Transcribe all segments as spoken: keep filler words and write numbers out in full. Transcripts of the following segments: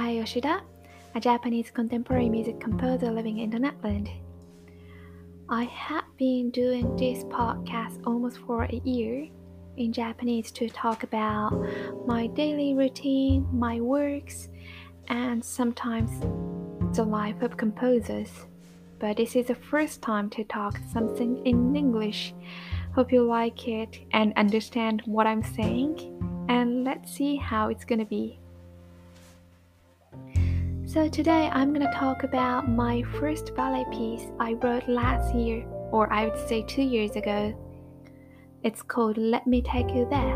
Sakai Yoshida, a Japanese contemporary music composer living in the Netherlands. I have been doing this podcast almost for a year in Japanese to talk about my daily routine, my works, and sometimes the life of composers. But this is the first time to talk something in English. Hope you like it and understand what I'm saying, and let's see how it's gonna be. So today I'm gonna talk about my first ballet piece I wrote last year, or I would say two years ago. It's called Let Me Take You There.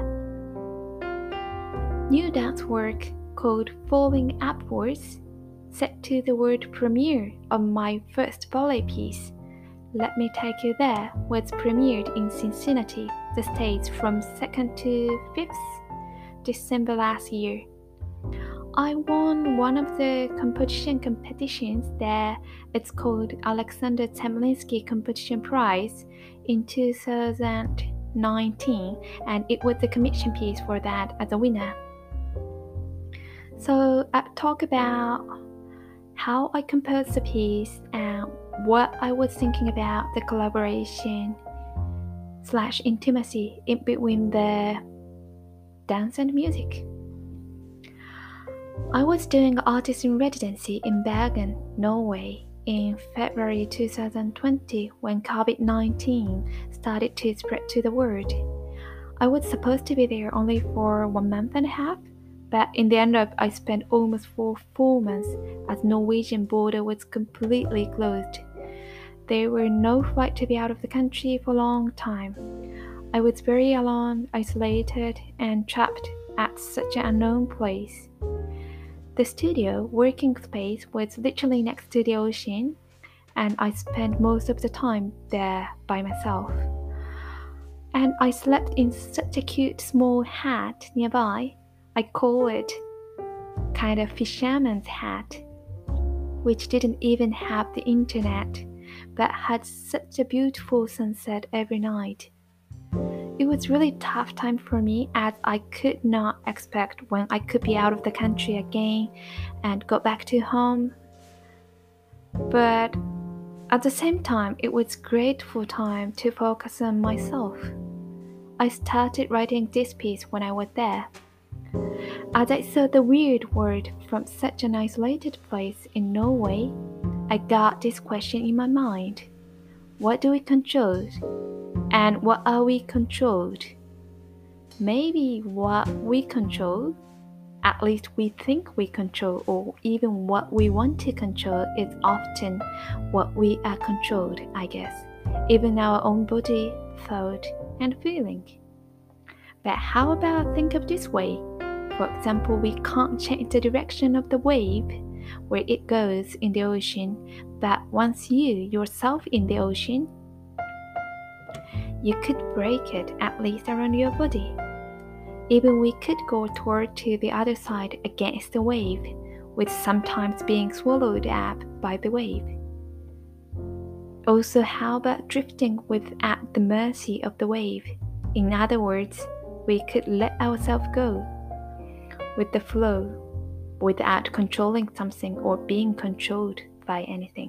New dance work called Falling Upwards, set to the word premiere of my first ballet piece, Let Me Take You There, was premiered in Cincinnati, the States from second to fifth December last year. I won one of the composition competitions there. It's called Alexander Temlinsky Competition Prize in two thousand nineteen, and it was the commission piece for that as a winner. So I talk about how I composed the piece and what I was thinking about the collaboration slash intimacy in between the dance and music. I was doing artist in residency in Bergen, Norway in February two thousand twenty when covid nineteen started to spread to the world. I was supposed to be there only for one month and a half, but in the end up I spent almost for four months as Norwegian border was completely closed. There were no flight to be out of the country for a long time. I was very alone, isolated, and trapped at such an unknown place. The studio working space was literally next to the ocean, and I spent most of the time there by myself. And I slept in such a cute small hat nearby. I call it kind of fisherman's hat, which didn't even have the internet, but had such a beautiful sunset every night. It was really tough time for me as I could not expect when I could be out of the country again and go back to home. But at the same time, it was grateful time to focus on myself. I started writing this piece when I was there. As I saw the weird world from such an isolated place in Norway, I got this question in my mind. What do we control? And what are we controlled? Maybe what we control, at least we think we control, or even what we want to control is often what we are controlled, I guess. Even our own body, thought, and feeling. But how about think of this way? For example, we can't change the direction of the wave, where it goes in the ocean, but once you, yourself in the ocean, you could break it at least around your body. Even we could go toward to the other side against the wave, with sometimes being swallowed up by the wave. Also, how about drifting with at the mercy of the wave? In other words, we could let ourselves go with the flow without controlling something or being controlled by anything.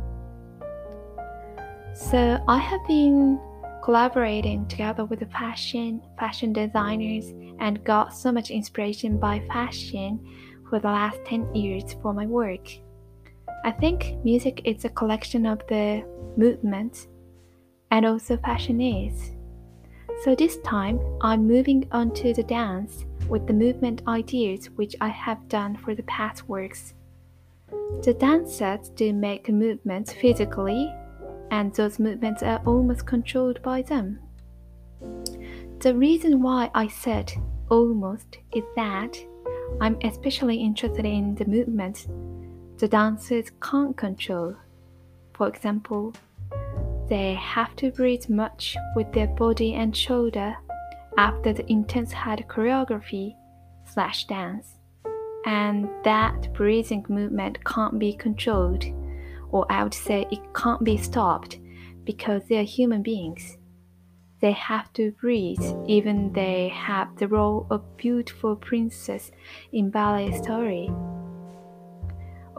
So I have been collaborating together with the fashion, fashion designers and got so much inspiration by fashion for the last ten years for my work. I think music is a collection of the movements, and also fashion is. So this time I'm moving on to the dance with the movement ideas which I have done for the past works. The dance sets do make movements physically, and those movements are almost controlled by them. The reason why I said almost is that I'm especially interested in the movements the dancers can't control. For example, they have to breathe much with their body and shoulder after the intense hard choreography slash dance, and that breathing movement can't be controlled, or I would say it can't be stopped because they are human beings. They have to breathe even they have the role of beautiful princess in ballet story.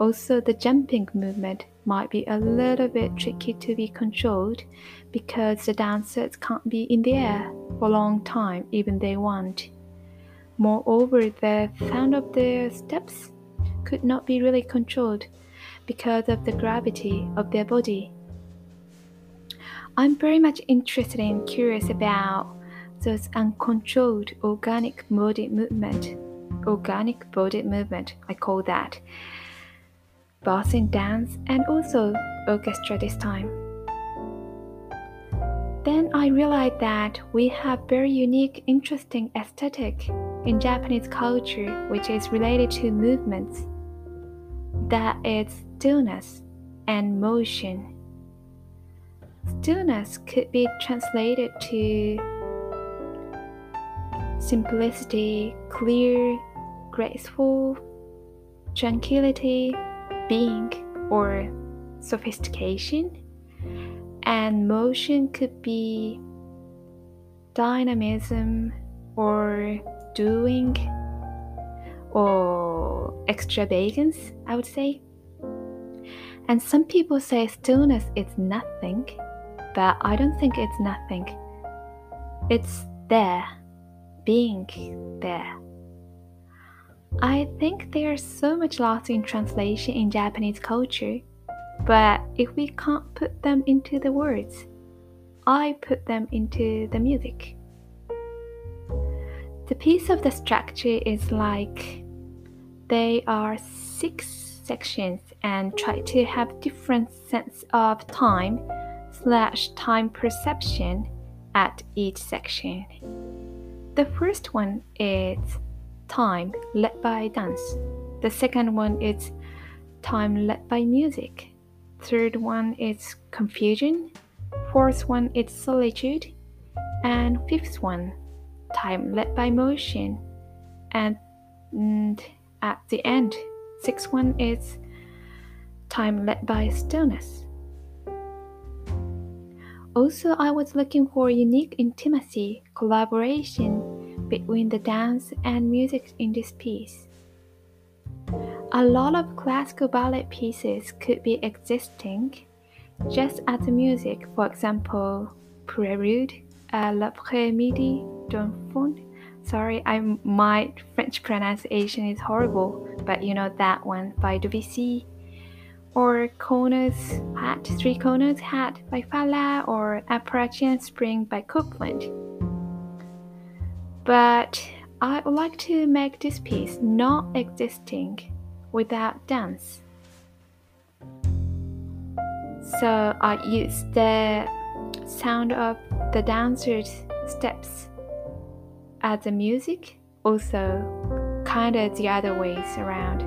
Also, the jumping movement might be a little bit tricky to be controlled because the dancers can't be in the air for a long time even they want. Moreover, the sound of the steps could not be really controlled because of the gravity of their body. I'm very much interested and curious about those uncontrolled organic body movement. Organic body movement, I call that. Both in dance and also orchestra this time. Then I realized that we have very unique, interesting aesthetic in Japanese culture which is related to movements. That is stillness and motion. Stillness could be translated to simplicity, clear, graceful, tranquility, being, or sophistication. And motion could be dynamism or doing or extravagance, I would say. And some people say stillness is nothing, but I don't think it's nothing. It's there, being there. I think there's so much lost in translation in Japanese culture, but if we can't put them into the words, I put them into the music. The piece of the structure is like they are six sections and try to have different sense of time slash time perception at each section. The first one is time led by dance. The second one is time led by music. Third one is confusion. Fourth one is solitude. And fifth one, time led by motion. And, and at the end, sixth one is time led by stillness. Also, I was looking for unique intimacy, collaboration between the dance and music in this piece. A lot of classical ballet pieces could be existing just as the music, for example, Prelude, uh, L'après-midi d'un faune. Sorry, I, my French pronunciation is horrible, but you know that one by Debussy. Or Kona's Hat, Three Konas Hat by Falla, or Appalachian Spring by Copland. But I would like to make this piece not existing without dance. So I use the sound of the dancers' steps as the music, also kind of the other ways around.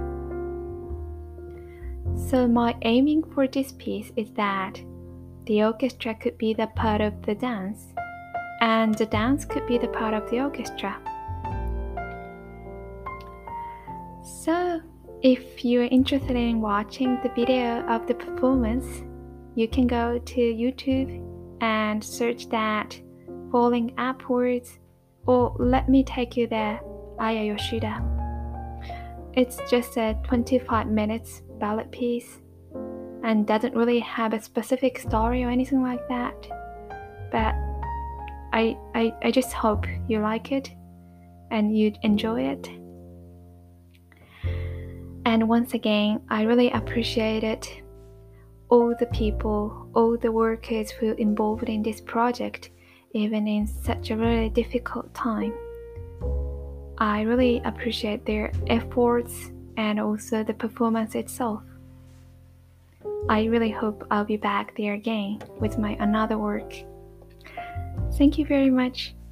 So my aiming for this piece is that the orchestra could be the part of the dance, and the dance could be the part of the orchestra. So, if you're interested in watching the video of the performance, you can go to YouTube and search that Falling Upwards, or let me take you there, Aya Yoshida. It's just a twenty-five minutes ballet piece and doesn't really have a specific story or anything like that. But I, I, I just hope you like it and you'd enjoy it. And once again, I really appreciate it. All the people, all the workers who are involved in this project, even in such a really difficult time. I really appreciate their efforts and also the performance itself. I really hope I'll be back there again with my another work. Thank you very much.